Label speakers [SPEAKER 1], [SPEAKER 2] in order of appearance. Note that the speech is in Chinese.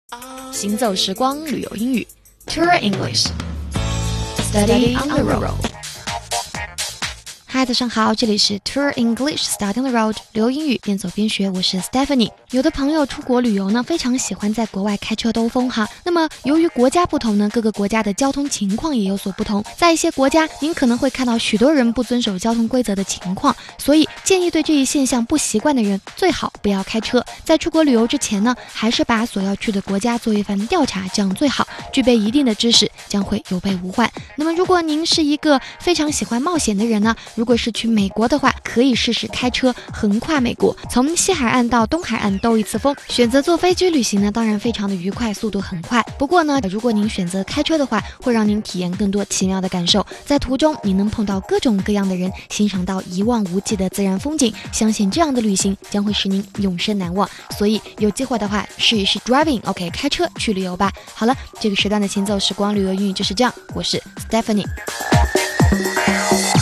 [SPEAKER 1] 行走时光旅游英语 Tour English Study on the road。 嗨，早上好，这里是 Tour English Study on the road 旅游英语边走边学，我是 Stephanie。 有的朋友出国旅游呢，非常喜欢在国外开车兜风哈。那么由于国家不同呢，各个国家的交通情况也有所不同，在一些国家您可能会看到许多人不遵守交通规则的情况，所以建议对这一现象不习惯的人最好不要开车。在出国旅游之前呢，还是把所要去的国家做一番调查，这样最好，具备一定的知识将会有备无患。那么如果您是一个非常喜欢冒险的人呢，如果是去美国的话，可以试试开车横跨美国，从西海岸到东海岸兜一次风。选择坐飞机旅行呢，当然非常的愉快，速度很快。不过呢，如果您选择开车的话，会让您体验更多奇妙的感受。在途中，你能碰到各种各样的人，欣赏到一望无际的自然风景。相信这样的旅行将会使您永生难忘。所以有机会的话，试一试 driving，OK， 开车去旅游吧。好了，这个时段的行走时光旅游英语就是这样，我是 Stephanie。